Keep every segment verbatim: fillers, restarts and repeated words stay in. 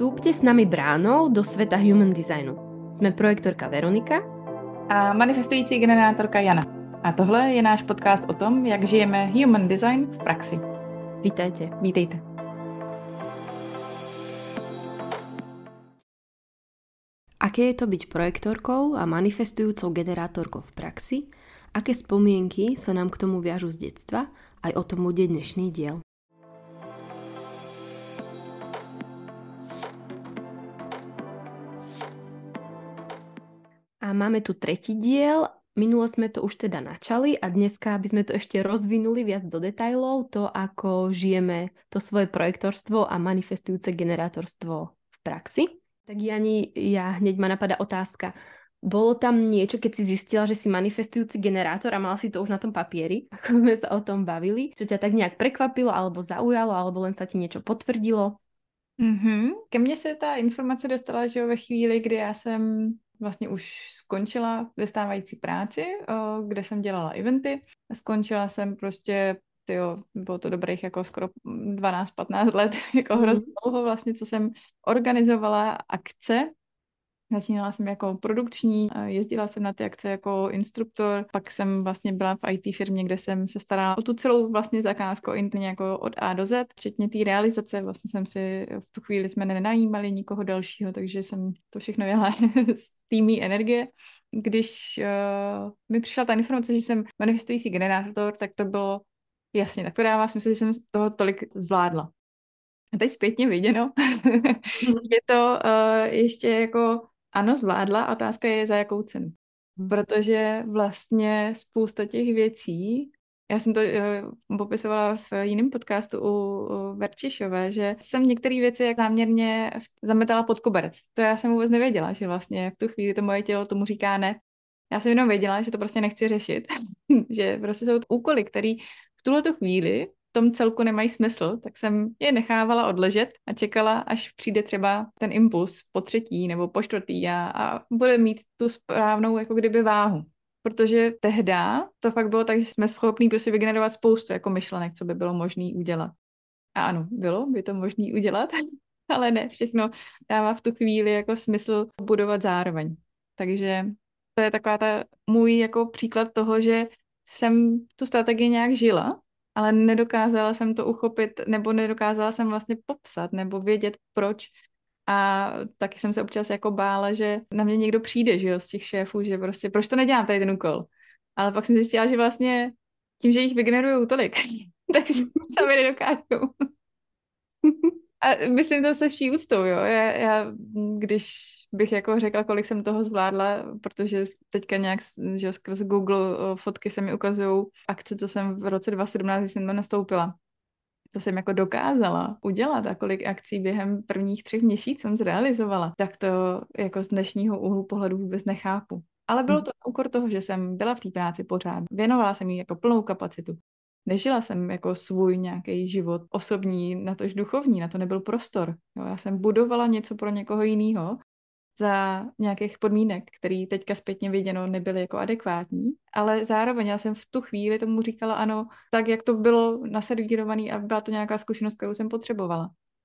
Vstúpte s nami bránou do sveta human designu. Jsme projektorka Veronika a manifestující generátorka Jana. A tohle je náš podcast o tom, jak žijeme human design v praxi. Vítajte. Vítejte. Aké je to byť projektorkou a manifestujúcou generátorkou v praxi? Aké spomienky sa nám k tomu viažu z detstva? Aj o tom bude dnešný diel. A máme tu tretí diel. Minule sme to už teda načali a dneska by sme to ešte rozvinuli viac do detailov, to ako žijeme to svoje projektorstvo a manifestujúce generátorstvo v praxi. Tak Jani, ja hneď ma napadá otázka. Bolo tam niečo, keď si zistila, že si manifestujúci generátor a mala si to už na tom papieri, ako sme sa o tom bavili, čo ťa tak nejak prekvapilo alebo zaujalo, alebo len sa ti niečo potvrdilo? Mm-hmm. Ke mně se ta informace dostala, že jo, ve chvíli, kdy já jsem vlastně už skončila ve stávající práci, o, kde jsem dělala eventy. Skončila jsem prostě, tyjo, bylo to dobrých jako skoro dvanáct patnáct let, jako mm. hrozně dlouho vlastně, co jsem organizovala akce. Začínala jsem jako produkční, jezdila jsem na ty akce jako instruktor, pak jsem vlastně byla v í té firmě, kde jsem se starala o tu celou vlastně zakázku interně jako od A do Z, včetně té realizace. Vlastně jsem si, v tu chvíli jsme nenajímali nikoho dalšího, takže jsem to všechno jela z týmí energie. Když uh, mi přišla ta informace, že jsem manifestující generátor, tak to bylo jasně, tak to dává smysl, že jsem z toho tolik zvládla. A teď zpětně viděno, je to uh, ještě jako ano, zvládla, a otázka je, za jakou cenu. Protože vlastně spousta těch věcí, já jsem to uh, popisovala v jiném podcastu u, u Verčišové, že jsem některé věci jak záměrně zametala pod koberec. To já jsem vůbec nevěděla, že vlastně v tu chvíli to moje tělo tomu říká ne. Já jsem jenom věděla, že to prostě nechci řešit. Že prostě jsou úkoly, které v tuhletu chvíli v tom celku nemají smysl, tak jsem je nechávala odležet a čekala, až přijde třeba ten impuls po třetí nebo po čtvrtý a, a bude mít tu správnou jako kdyby váhu. Protože tehda to fakt bylo tak, že jsme schopní prostě vygenerovat spoustu jako myšlenek, co by bylo možné udělat. A ano, bylo by to možné udělat, ale ne, všechno dává v tu chvíli jako smysl budovat zároveň. Takže to je taková ta můj jako příklad toho, že jsem tu strategii nějak žila, ale nedokázala jsem to uchopit, nebo nedokázala jsem vlastně popsat, nebo vědět proč. A taky jsem se občas jako bála, že na mě někdo přijde, že jo, z těch šéfů, že prostě, proč to nedělám tady ten úkol. Ale pak jsem zjistila, že vlastně tím, že jich vygenerujou tolik, takže sami nedokážou. A myslím to se vší úctou, jo. Já, já, když bych jako řekla, kolik jsem toho zvládla, protože teďka nějak, že skrz Google fotky se mi ukazují akce, co jsem v roce dva tisíce sedmnáct, když jsem to nastoupila. To jsem jako dokázala udělat a kolik akcí během prvních třech měsíců jsem zrealizovala, tak to jako z dnešního úhlu pohledu vůbec nechápu. Ale bylo to na úkor toho, že jsem byla v té práci pořád. Věnovala jsem jí jako plnou kapacitu. Nežila jsem jako svůj nějaký život osobní, natož duchovní, na to nebyl prostor. Jo, já jsem budovala něco pro někoho jiného za nějakých podmínek, které teďka zpětně viděno nebyly jako adekvátní, ale zároveň já jsem v tu chvíli tomu říkala ano, tak jak to bylo naservírované a byla to nějaká zkušenost, kterou jsem potřebovala.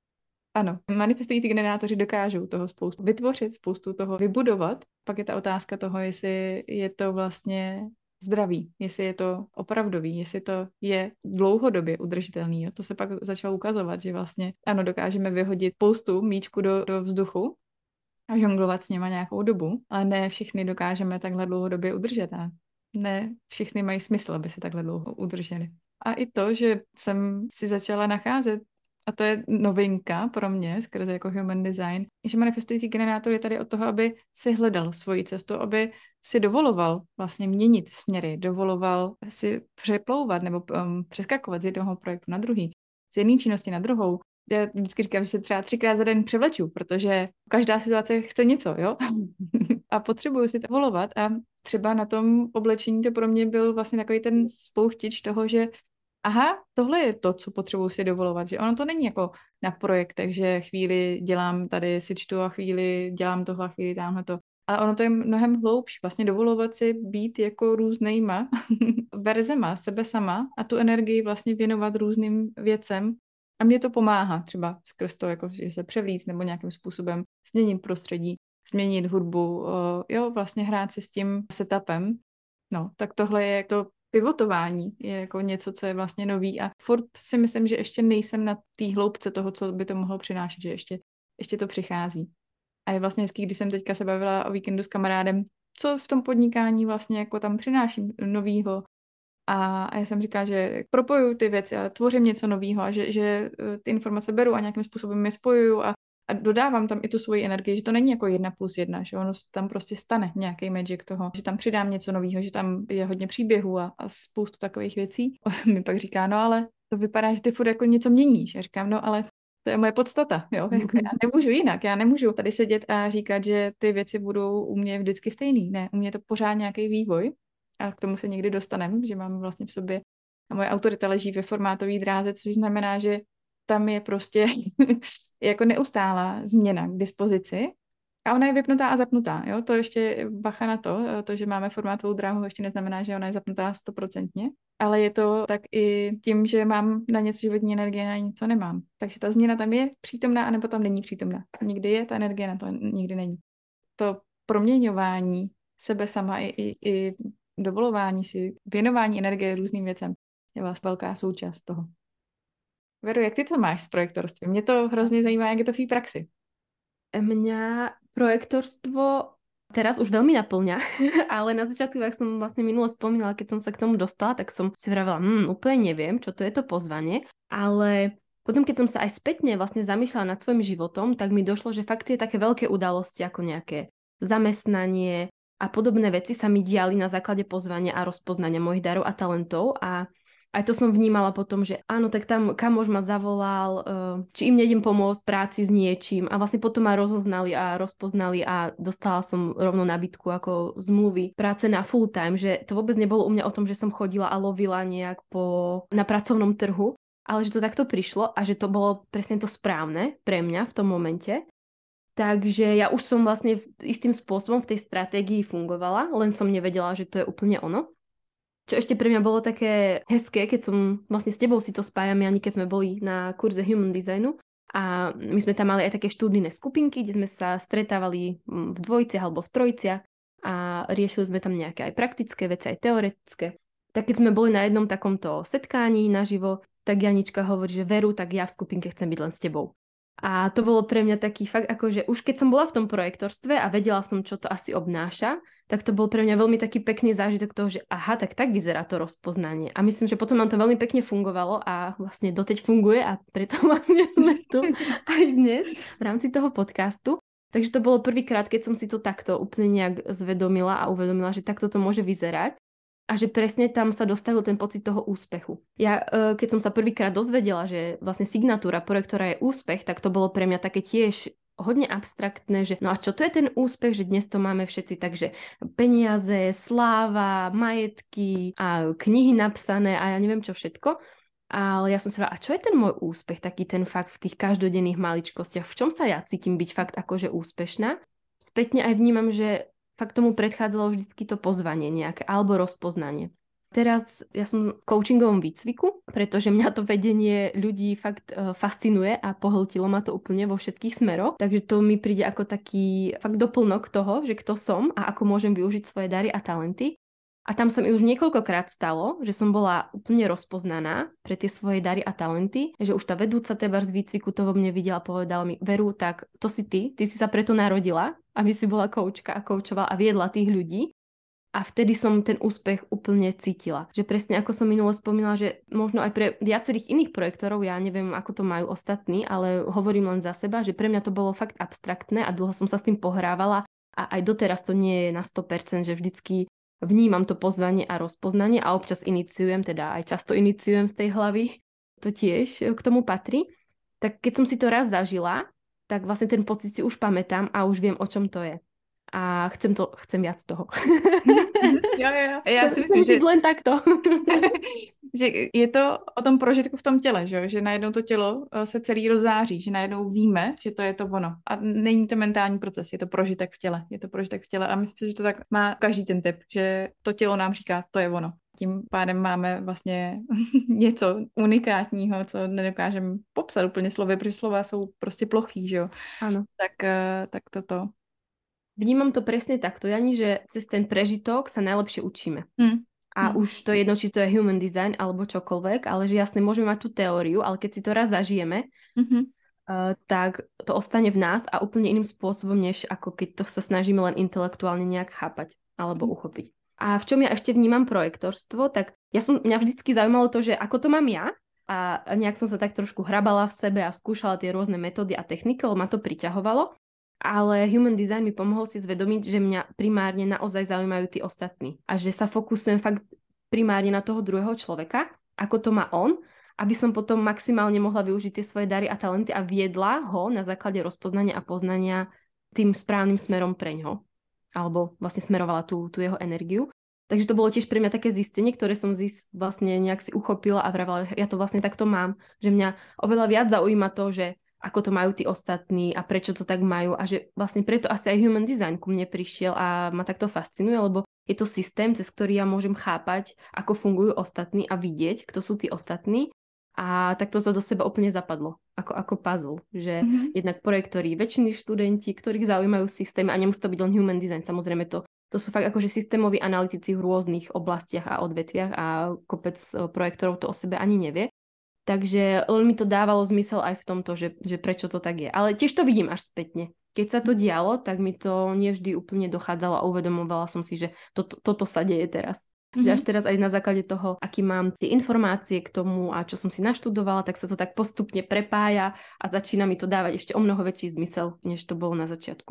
Ano, manifestující generátoři dokážou toho spoustu vytvořit, spoustu toho vybudovat, pak je ta otázka toho, jestli je to vlastně zdraví, jestli je to opravdový, jestli to je dlouhodobě udržitelný. Jo. To se pak začalo ukazovat, že vlastně ano, dokážeme vyhodit spoustu míčku do, do vzduchu a žonglovat s něma nějakou dobu, ale ne všichni dokážeme takhle dlouhodobě udržet a ne všichni mají smysl, aby se takhle dlouho udrželi. A i to, že jsem si začala nacházet, a to je novinka pro mě, skrze jako human design, že manifestující generátor je tady od toho, aby si hledal svoji cestu, aby si dovoloval vlastně měnit směry, dovoloval si přeplouvat nebo um, přeskakovat z jednoho projektu na druhý, z jedné činnosti na druhou. Já vždycky říkám, že se třeba třikrát za den převleču, protože každá situace chce něco, jo? A potřebuju si to volovat a třeba na tom oblečení to pro mě byl vlastně takový ten spouštěč toho, že aha, tohle je to, co potřebuji si dovolovat, že ono to není jako na projektech, že chvíli dělám tady, si čtu a chvíli dělám tohle a chvíli tamhle to. Ale ono to je mnohem hloubší, vlastně dovolovat si být jako různýma verzema sebe sama a tu energii vlastně věnovat různým věcem A mě to pomáhá třeba skrz to, jako, že se převlíct nebo nějakým způsobem změnit prostředí, změnit hudbu, uh, jo, vlastně hrát si s tím setupem. No, tak tohle je to pivotování, je jako něco, co je vlastně nový a furt si myslím, že ještě nejsem na té hloubce toho, co by to mohlo přinášet, že ještě, ještě to přichází. A je vlastně hezký, když jsem teďka se bavila o víkendu s kamarádem, co v tom podnikání vlastně jako tam přináším novýho. A, a já jsem říkala, že propojuju ty věci a tvořím něco novýho a že, že ty informace beru a nějakým způsobem je spojuju a, a dodávám tam i tu svoji energii, že to není jako jedna plus jedna, že ono tam prostě stane nějaký magic toho, že tam přidám něco novýho, že tam je hodně příběhů a, a spoustu takových věcí. On mi pak říká, no ale to vypadá, že ty furt jako něco měníš. Já říkám, no ale to je moje podstata, jo. Jako já nemůžu jinak, já nemůžu tady sedět a říkat, že ty věci budou u mě vždycky stejný. Ne, u mě je to pořád nějaký vývoj a k tomu se někdy dostaneme, že mám vlastně v sobě a moje autorita leží ve formátové dráze, což znamená, že tam je prostě jako neustálá změna k dispozici a ona je vypnutá a zapnutá, jo. To ještě bacha na to, to, že máme formátovou dráhu, ještě neznamená, že ona je zapnutá stoprocentně. Ale je to tak i tím, že mám na něco životní energie, na něco nemám. Takže ta změna tam je přítomná, anebo tam není přítomná. Někdy je ta energie, na to nikdy není. To proměňování sebe sama i, i, i dovolování si, věnování energie různým věcem je vlastně velká součást toho. Veru, jak ty to máš s projektorstvím? Mě to hrozně zajímá, jak je to v té praxi. Mňa projektorstvo teraz už veľmi naplňa, ale na začiatku, ak som vlastne minulo spomínala, keď som sa k tomu dostala, tak som si vravela, hm, úplne neviem, čo to je to pozvanie, ale potom, keď som sa aj spätne vlastne zamýšľala nad svojim životom, tak mi došlo, že fakt tie také veľké udalosti, ako nejaké zamestnanie a podobné veci sa mi diali na základe pozvania a rozpoznania mojich darov a talentov a aj to som vnímala potom, že áno, tak tam kamoš ma zavolal, či im nejdem pomôcť v práci s niečím a vlastne potom ma rozoznali a rozpoznali a dostala som rovno nabídku ako zmluvy práce na full time, že to vôbec nebolo u mňa o tom, že som chodila a lovila nejak po, na pracovnom trhu, ale že to takto prišlo a že to bolo presne to správne pre mňa v tom momente. Takže ja už som vlastne istým spôsobom v tej stratégii fungovala, len som nevedela, že to je úplne ono. Čo ešte pre mňa bolo také hezké, keď som vlastne s tebou si to spájam, Jani, keď sme boli na kurze Human Designu a my sme tam mali aj také študijné skupinky, kde sme sa stretávali v dvojiciach alebo v trojiciach a riešili sme tam nejaké aj praktické veci, aj teoretické. Tak keď sme boli na jednom takomto setkání naživo, tak Janička hovorí, že Veru, tak ja v skupinke chcem byť len s tebou. A to bolo pre mňa taký fakt, akože už keď som bola v tom projektorstve a vedela som, čo to asi obnáša, tak to bol pre mňa veľmi taký pekný zážitok toho, že aha, tak tak vyzerá to rozpoznanie. A myslím, že potom nám to veľmi pekne fungovalo a vlastne doteď funguje a preto vlastne sme tu aj dnes v rámci toho podcastu. Takže to bolo prvýkrát, keď som si to takto úplne nejak zvedomila a uvedomila, že takto to môže vyzerať. A že presne tam sa dostavil ten pocit toho úspechu. Ja, keď som sa prvýkrát dozvedela, že vlastne signatúra projektora je úspech, tak to bolo pre mňa také tiež hodne abstraktné, že no a čo to je ten úspech, že dnes to máme všetci, takže peniaze, sláva, majetky a knihy napsané a ja neviem čo všetko. Ale ja som sa a čo je ten môj úspech, taký ten fakt v tých každodenných maličkostiach, v čom sa ja cítim byť fakt akože úspešná? Spätne aj vnímam, že fakt tomu predchádzalo vždycky to pozvanie nejaké, alebo rozpoznanie. Teraz ja som v coachingovom výcviku, pretože mňa to vedenie ľudí fakt uh, fascinuje a pohltilo ma to úplne vo všetkých smeroch. Takže to mi príde ako taký fakt doplnok toho, že kto som a ako môžem využiť svoje dary a talenty. A tam sa mi už niekoľkokrát stalo, že som bola úplne rozpoznaná pre tie svoje dary a talenty, že už tá vedúca teba z výcviku to vo mne videla a povedala mi, Veru, tak to si ty, ty si sa preto narodila, aby si bola koučka a koučovala a viedla tých ľudí. A vtedy som ten úspech úplne cítila. Že presne ako som minulo spomínala, že možno aj pre viacerých iných projektorov, ja neviem, ako to majú ostatní, ale hovorím len za seba, že pre mňa to bolo fakt abstraktné a dlho som sa s tým pohrávala a aj doteraz to nie je na sto percent, že vždycky vnímam to pozvanie a rozpoznanie a občas iniciujem, teda aj často iniciujem z tej hlavy, to tiež k tomu patrí. Tak keď som si to raz zažila, tak vlastne ten pocit si už pamätám a už viem, o čom to je. A chcem to, chcem viac toho. Jo, jo. Já si myslím, myslím, že... len takto. že je to o tom prožitku v tom těle, že, že najednou to tělo se celý rozzáří, že najednou víme, že to je to ono. A není to mentální proces, je to prožitek v těle. Je to prožitek v těle a myslím si, že to tak má každý ten typ, že to tělo nám říká, to je ono. Tím pádem máme vlastně něco unikátního, co nedokážeme popsat úplně slovy, protože slova jsou prostě plochý, že jo. Áno. Tak, tak toto. Vnímam to presne takto, Jani, že cez ten prežitok sa najlepšie učíme. Hmm. A hmm. už to je jedno, či to je human design alebo čokoľvek, ale že jasne môžeme mať tú teóriu, ale keď si to raz zažijeme, mm-hmm. uh, tak to ostane v nás a úplne iným spôsobom, než ako keď to sa snažíme len intelektuálne nejak chápať alebo Hmm. uchopiť. A v čom ja ešte vnímam projektorstvo, tak ja som, mňa vždycky zaujímalo to, že ako to mám ja, a nejak som sa tak trošku hrabala v sebe a skúšala tie rôzne metódy a techniky, lebo ma to priťahovalo. Ale human design mi pomohol si zvedomiť, že mňa primárne naozaj zaujímajú tí ostatní a že sa fokusujem fakt primárne na toho druhého človeka, ako to má on, aby som potom maximálne mohla využiť tie svoje dary a talenty a viedla ho na základe rozpoznania a poznania tým správnym smerom preňho. Alebo vlastne smerovala tú, tú jeho energiu. Takže to bolo tiež pre mňa také zistenie, ktoré som zist, vlastne nejak si uchopila a vravela, ja to vlastne takto mám, že mňa oveľa viac zaujíma to, že ako to majú tí ostatní a prečo to tak majú a že vlastne preto asi aj human design ku mne prišiel a ma takto fascinuje, lebo je to systém, cez ktorý ja môžem chápať, ako fungujú ostatní a vidieť, kto sú tí ostatní a tak toto do seba úplne zapadlo, ako, ako puzzle, že mm-hmm. jednak projektori, väčšiny študenti, ktorých zaujímajú systémy a nemusí to byť len human design, samozrejme to, to sú fakt akože systémoví analytici v rôznych oblastiach a odvetviach a kopec projektorov to o sebe ani nevie. Takže len mi to dávalo zmysel aj v tomto, že, že prečo to tak je. Ale tiež to vidím až spätne. Keď sa to dialo, tak mi to nevždy úplne dochádzalo a uvedomovala som si, že to, to, toto sa deje teraz. Mm-hmm. Že až teraz aj na základe toho, aký mám tie informácie k tomu a čo som si naštudovala, tak sa to tak postupne prepája a začína mi to dávať ešte o mnoho väčší zmysel, než to bolo na začiatku.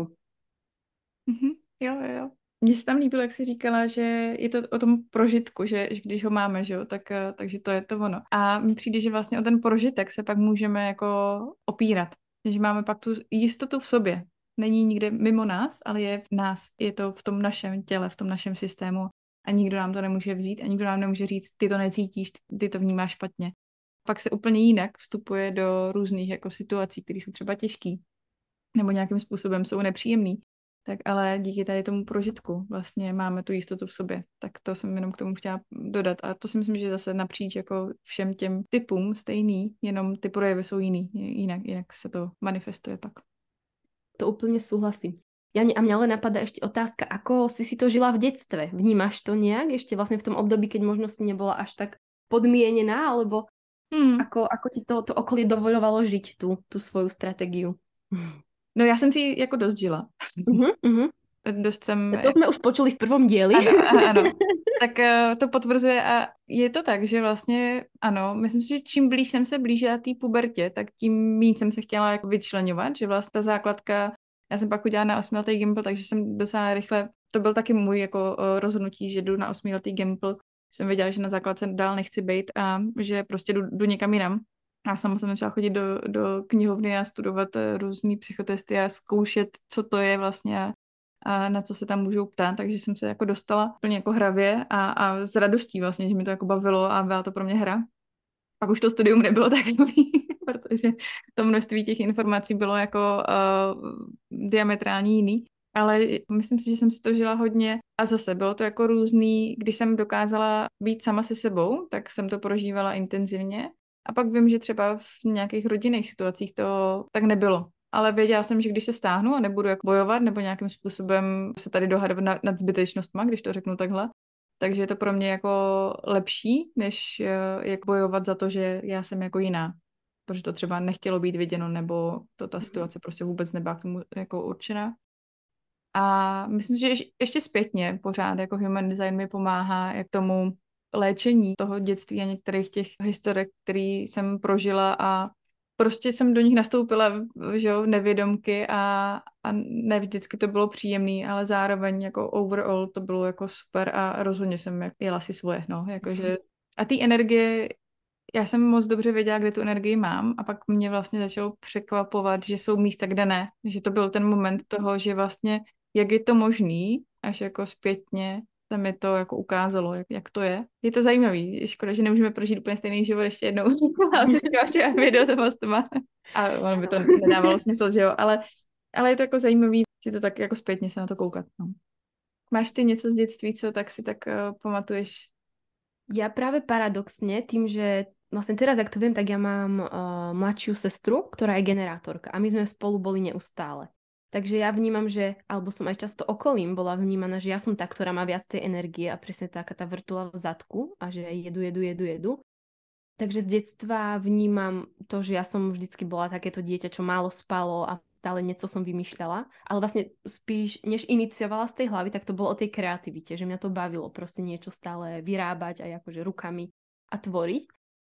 Mm-hmm. Jo, jo, jo. Mně se tam líbilo, jak jsi říkala, že je to o tom prožitku, že, že když ho máme, že jo, tak, takže to je to ono. A mi přijde, že vlastně o ten prožitek se pak můžeme jako opírat. Že máme pak tu jistotu v sobě. Není nikde mimo nás, ale je v nás. Je to v tom našem těle, v tom našem systému. A nikdo nám to nemůže vzít a nikdo nám nemůže říct, ty to necítíš, ty to vnímáš špatně. Pak se úplně jinak vstupuje do různých jako situací, které jsou třeba těžký nebo nějakým způsobem jsou nepříjemný. Tak ale díky tady tomu prožitku vlastně máme tu jistotu v sobě. Tak to jsem jenom k tomu chtěla dodat. A to si myslím, že zase napříč jako všem těm typům stejný, jenom ty projevy jsou jiný. Jinak, jinak se to manifestuje pak. To úplne súhlasím. Jani, a mňa len napadá ešte otázka, ako si si to žila v detstve? Vnímaš to nejak ešte vlastne v tom období, keď možno si nebola až tak podmienená, alebo hmm. ako, ako ti to, to okolie dovoľovalo žiť tú, tú svoju stratégiu? No já jsem si jako dost žila. Uh-huh, uh-huh. Dost jsem... To jsme už počuli v prvom dieli. Ano, ano. Tak uh, to potvrzuje a je to tak, že vlastně ano, myslím si, že čím blíž jsem se blížila té pubertě, tak tím méně jsem se chtěla jako vyčleňovat, že vlastně ta základka, já jsem pak udělala na osmiletý gimpl, takže jsem docela rychle, to byl taky můj jako uh, rozhodnutí, že jdu na osmiletý gimpl, jsem věděla, že na základce dál nechci být a že prostě jdu, jdu někam jinam. Já sama jsem začala chodit do, do knihovny a studovat různý psychotesty a zkoušet, co to je vlastně a, a na co se tam můžou ptát, takže jsem se jako dostala plně jako hravě a, a s radostí vlastně, že mi to jako bavilo a byla to pro mě hra. Pak už to studium nebylo takový, protože to množství těch informací bylo jako uh, diametrálně jiný. Ale myslím si, že jsem si to žila hodně a zase bylo to jako různý, když jsem dokázala být sama se sebou, tak jsem to prožívala intenzivně. A pak vím, že třeba v nějakých rodinných situacích to tak nebylo. Ale věděla jsem, že když se stáhnu a nebudu jak bojovat nebo nějakým způsobem se tady dohadovat nad, nad zbytečnostma, když to řeknu takhle, takže je to pro mě jako lepší, než jak bojovat za to, že já jsem jako jiná. Protože to třeba nechtělo být viděno nebo to ta situace prostě vůbec nebyla k tomu jako určená. A myslím si, že ještě zpětně pořád jako human design mi pomáhá jak tomu léčení toho dětství a některých těch historek, které jsem prožila a prostě jsem do nich nastoupila, že jo, nevědomky a, a ne vždycky to bylo příjemný, ale zároveň jako overall to bylo jako super a rozhodně jsem jak jela si svoje, no, jakože a ty energie, já jsem moc dobře věděla, kde tu energii mám a pak mě vlastně začalo překvapovat, že jsou místa, kde ne, že to byl ten moment toho, že vlastně jak je to možný, až jako zpětně se mi to jako ukázalo, jak, jak to je. Je to zajímavý. Je škoda, že nemůžeme prožít úplně stejný život ještě jednou. Ale ty si vaše video to postuma. A ono by to nedávalo smysl, že jo. Ale, ale je to jako zajímavý si to tak jako zpětně se na to koukat. No. Máš ty něco z dětství, co tak si tak uh, pamatuješ? Ja práve paradoxne, tým, že vlastne teraz, ak to viem, tak ja mám uh, mladšiu sestru, ktorá je generátorka a my sme spolu boli neustále. Takže ja vnímam, že, alebo som aj často okolím bola vnímaná, že ja som tá, ktorá má viac tej energie a presne taká tá vrtula v zadku a že jedu, jedu, jedu, jedu. Takže z detstva vnímam to, že ja som vždycky bola takéto dieťa, čo málo spalo a stále niečo som vymýšľala. Ale vlastne spíš, než iniciovala z tej hlavy, tak to bolo o tej kreativite, že mňa to bavilo proste niečo stále vyrábať aj akože rukami a tvoriť.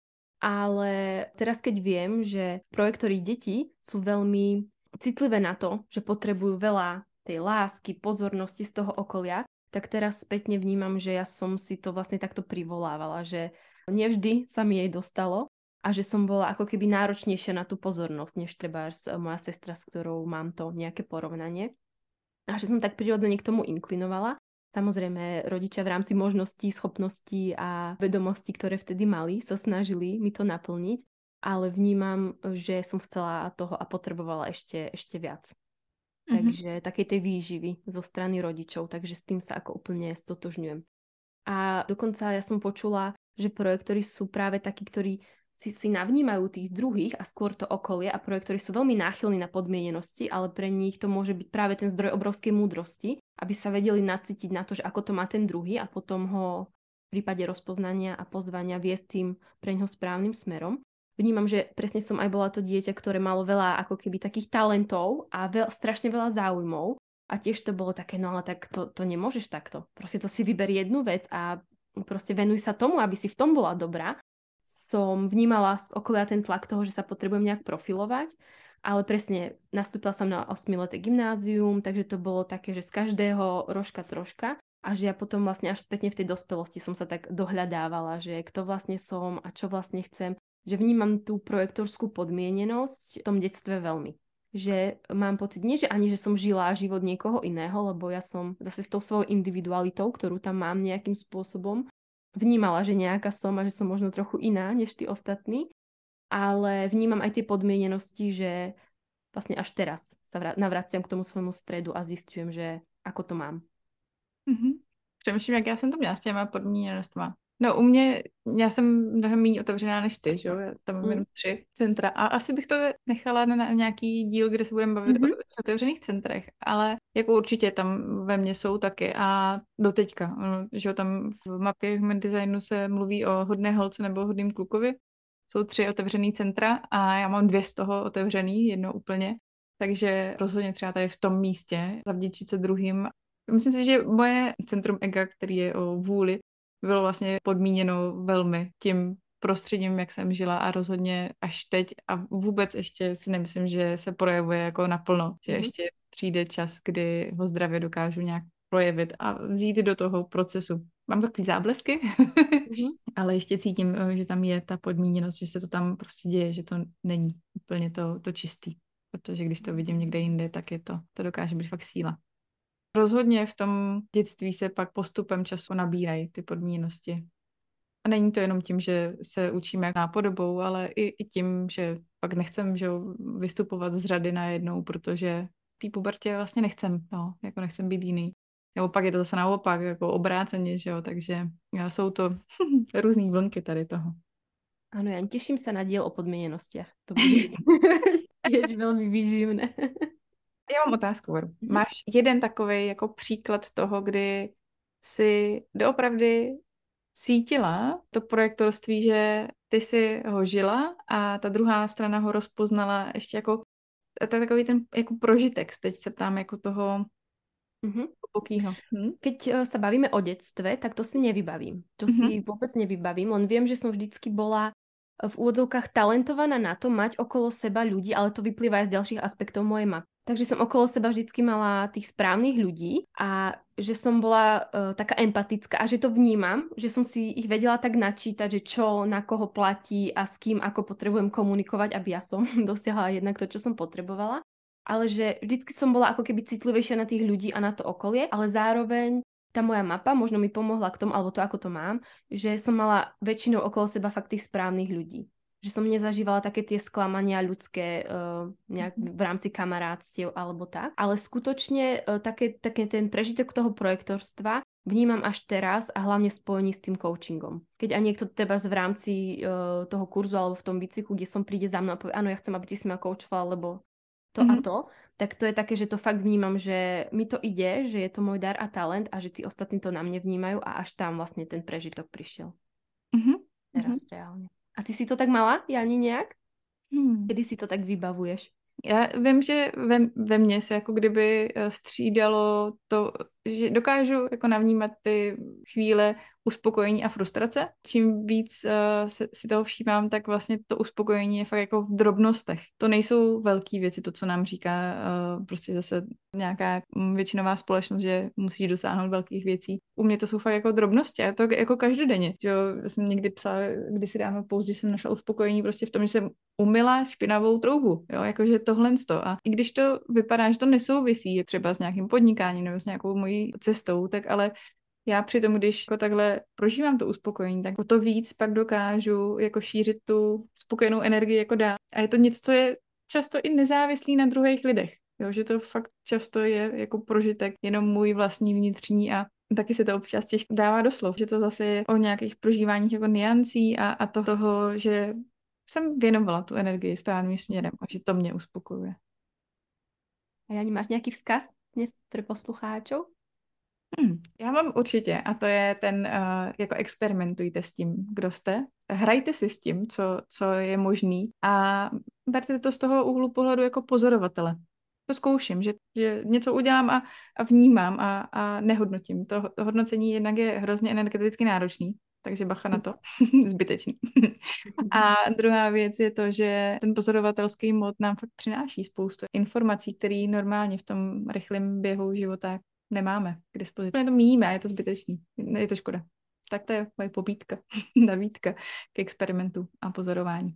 Ale teraz keď viem, že projektori detí sú veľmi citlivé na to, že potrebujú veľa tej lásky, pozornosti z toho okolia, tak teraz spätne vnímam, že ja som si to vlastne takto privolávala, že nevždy sa mi jej dostalo a že som bola ako keby náročnejšia na tú pozornosť, než trebárs moja sestra, s ktorou mám to nejaké porovnanie. A že som tak prirodzene k tomu inklinovala. Samozrejme, rodičia v rámci možností, schopností a vedomostí, ktoré vtedy mali, sa snažili mi to naplniť, ale vnímam, že som chcela toho a potrebovala ešte, ešte viac. Mm-hmm. Takže takej tej výživy zo strany rodičov, takže s tým sa ako úplne stotožňujem. A dokonca ja som počula, že projektori sú práve takí, ktorí si, si navnímajú tých druhých a skôr to okolie a projektori sú veľmi náchylní na podmienenosti, ale pre nich to môže byť práve ten zdroj obrovskej múdrosti, aby sa vedeli nacítiť na to, že ako to má ten druhý a potom ho v prípade rozpoznania a pozvania viesť tým pre ňoho správnym smerom. Vnímam, že presne som aj bola to dieťa, ktoré malo veľa ako keby takých talentov a veľ, strašne veľa záujmov. A tiež to bolo také, no ale tak to, to nemôžeš takto. Proste to si vyber jednu vec a proste venuj sa tomu, aby si v tom bola dobrá. Som vnímala z okolia ten tlak toho, že sa potrebujem nejak profilovať, ale presne nastúpila som na osmileté gymnázium, takže to bolo také, že z každého rožka troška a že ja potom vlastne až spätne v tej dospelosti som sa tak dohľadávala, že kto vlastne som a čo vlastne chcem, že vnímam tú projektorskú podmienenosť v tom detstve veľmi. Že mám pocit, nie že ani, že som žila život niekoho iného, lebo ja som zase s tou svojou individualitou, ktorú tam mám nejakým spôsobom, vnímala, že nejaká som a že som možno trochu iná než tí ostatní, ale vnímam aj tie podmienenosti, že vlastne až teraz sa navraciam k tomu svojmu stredu a zistujem, že ako to mám. Mm-hmm. Přemýšlím, jak já jsem to měla s těma podmíněnostma. No u mě, já jsem mnohem méně otevřená než ty, že jo, já tam mám mm. jenom tři centra a asi bych to nechala na, na nějaký díl, kde se budeme bavit mm-hmm. o otevřených centrech, ale jako určitě tam ve mně jsou taky a doteďka, že jo, tam v mapě Human Designu se mluví o hodné holce nebo hodným klukovi, jsou tři otevřený centra a já mám dvě z toho otevřený, jedno úplně, takže rozhodně třeba tady v tom místě zavděčit se druhým. Myslím si, že moje centrum ega, který je o vůli, bylo vlastně podmíněno velmi tím prostředím, jak jsem žila a rozhodně až teď a vůbec ještě si nemyslím, že se projevuje jako naplno, že mm-hmm. ještě přijde čas, kdy ho zdravě dokážu nějak projevit a vzít do toho procesu. Mám takový záblesky, mm-hmm. ale ještě cítím, že tam je ta podmíněnost, že se to tam prostě děje, že to není úplně to, to čistý, protože když to vidím někde jinde, tak je to, to dokáže být fakt síla. Rozhodně v tom dětství se pak postupem času nabírají ty podmíněnosti. A není to jenom tím, že se učíme nápodobou, ale i, i tím, že pak nechcem že jo, vystupovat z řady najednou, protože v té pubertě vlastně nechcem, no, jako nechcem být jiný. Nebo pak je to zase naopak, jako obráceně, že jo, takže jsou to různý vlnky tady toho. Áno, ja teším sa na diel o podmienenostiach. To bude tiež veľmi výživné. Já mám otázku, Varu. Máš jeden takovej jako příklad toho, kdy jsi doopravdy cítila to projektorství, že ty si ho žila a ta druhá strana ho rozpoznala ještě jako to je takový ten jako prožitek. Teď se ptám jako toho mm-hmm. hlubokýho. Hm? Keď sa bavíme o detstve, tak to si nevybavím. To mm-hmm. si vôbec nevybavím, len viem, že som vždycky bola v úvodzovkách talentovaná na to mať okolo seba ľudí, ale to vyplýva aj z ďalších aspektov mojej mapy. Takže som okolo seba vždycky mala tých správnych ľudí a že som bola uh, taká empatická a že to vnímam, že som si ich vedela tak načítať, že čo na koho platí a s kým ako potrebujem komunikovať, aby ja som dosiahla jednak to, čo som potrebovala. Ale že vždycky som bola ako keby citlivejšia na tých ľudí a na to okolie, ale zároveň tá moja mapa možno mi pomohla k tomu, alebo to, ako to mám, že som mala väčšinou okolo seba fakt tých správnych ľudí. Že som nezažívala také tie sklamania ľudské uh, nejak v rámci kamarátstiev alebo tak. Ale skutočne uh, také, také ten prežitok toho projektorstva vnímam až teraz a hlavne v spojení s tým coachingom. Keď aj niekto teba v rámci uh, toho kurzu alebo v tom bicyklu, kde som príde za mnou a povie, áno, ja chcem, aby ty si ma coachoval, lebo to mm-hmm. a to, tak to je také, že to fakt vnímam, že mi to ide, že je to môj dar a talent a že tí ostatní to na mne vnímajú a až tam vlastne ten prežitok prišiel. Mm-hmm. Teraz reálne. A ty si to tak mala, Jani, nejak? Hmm. Kedy si to tak vybavuješ? Já vím, že ve, ve mně se jako kdyby střídalo to, že dokážu jako navnímat ty chvíle uspokojení a frustrace. Čím víc uh, se, si toho všímám, tak vlastně to uspokojení je fakt jako v drobnostech. To nejsou velké věci, to, co nám říká uh, prostě zase nějaká většinová společnost, že musí dosáhnout velkých věcí. U mě to jsou fakt jako drobnosti a to jako každodenně. Že jo, jsem někdy psala, kdysi dávno pouze, že jsem našla uspokojení prostě v tom, že jsem umyla špinavou troubu, jo, jakože tohle sto. A i když to vypadá, že to nesouvisí třeba s nějakým podnikáním nebo s nějakou mojí cestou, tak ale já přitom, když jako takhle prožívám to uspokojení, tak o to víc pak dokážu jako šířit tu spokojenou energii jako dál. A je to něco, co je často i nezávislý na druhých lidech. Jo, že to fakt často je jako prožitek jenom můj vlastní vnitřní a taky se to občas těžko dává do slov, že to zase je o nějakých prožíváních jako niancí a, a to, toho, že jsem věnovala tu energii správným směrem a že to mě uspokojuje. A Jani, máš nějaký vzkaz dnes pro poslucháčov? Hmm, já mám určitě a to je ten, uh, jako experimentujte s tím, kdo jste. Hrajte si s tím, co, co je možný a berte to z toho úhlu pohledu jako pozorovatele. To zkouším, že, že něco udělám a, a vnímám a, a nehodnotím. To, to hodnocení jednak je hrozně energeticky náročný, takže bacha na to, zbytečný. A druhá věc je to, že ten pozorovatelský mod nám fakt přináší spoustu informací, které normálně v tom rychlém běhu života nemáme k dispozici. My to míjíme a je to zbytečný. Je to škoda. Tak to je moje pobídka, nabídka k experimentu a pozorování.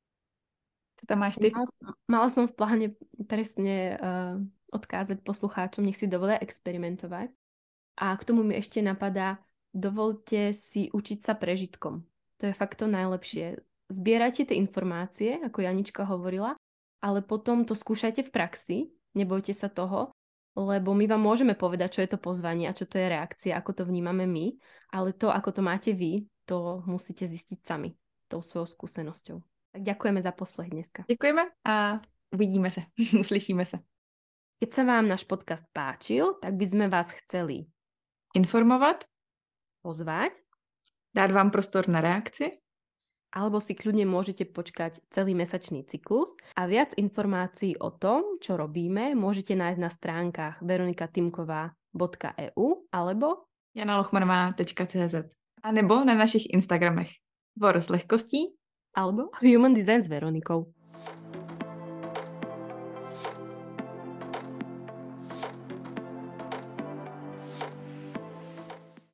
Co tam máš ty? Mala, mala som v pláne presne uh, odkázať poslucháčom, nech si dovolia experimentovať. A k tomu mi ešte napadá, dovolte si učiť sa prežitkom. To je fakt to najlepšie. Zbierajte tie informácie, ako Janička hovorila, ale potom to skúšajte v praxi, nebojte sa toho, lebo my vám môžeme povedať, čo je to pozvanie a čo to je reakcia, ako to vnímame my, ale to, ako to máte vy, to musíte zistiť sami tou svojou skúsenosťou. Tak ďakujeme za poslech dneska. Děkujeme a uvidíme se, uslyšíme se. Keď sa vám náš podcast páčil, tak by sme vás chceli informovat, pozvať, dát vám prostor na reakci, alebo si kľudne môžete počkať celý mesačný cyklus a viac informácií o tom, čo robíme, môžete nájsť na stránkach veronikatimková bodka e u alebo jana lochmanová tečka cé zet a nebo na našich Instagramech Vor s lehkostí alebo Human Design s Veronikou.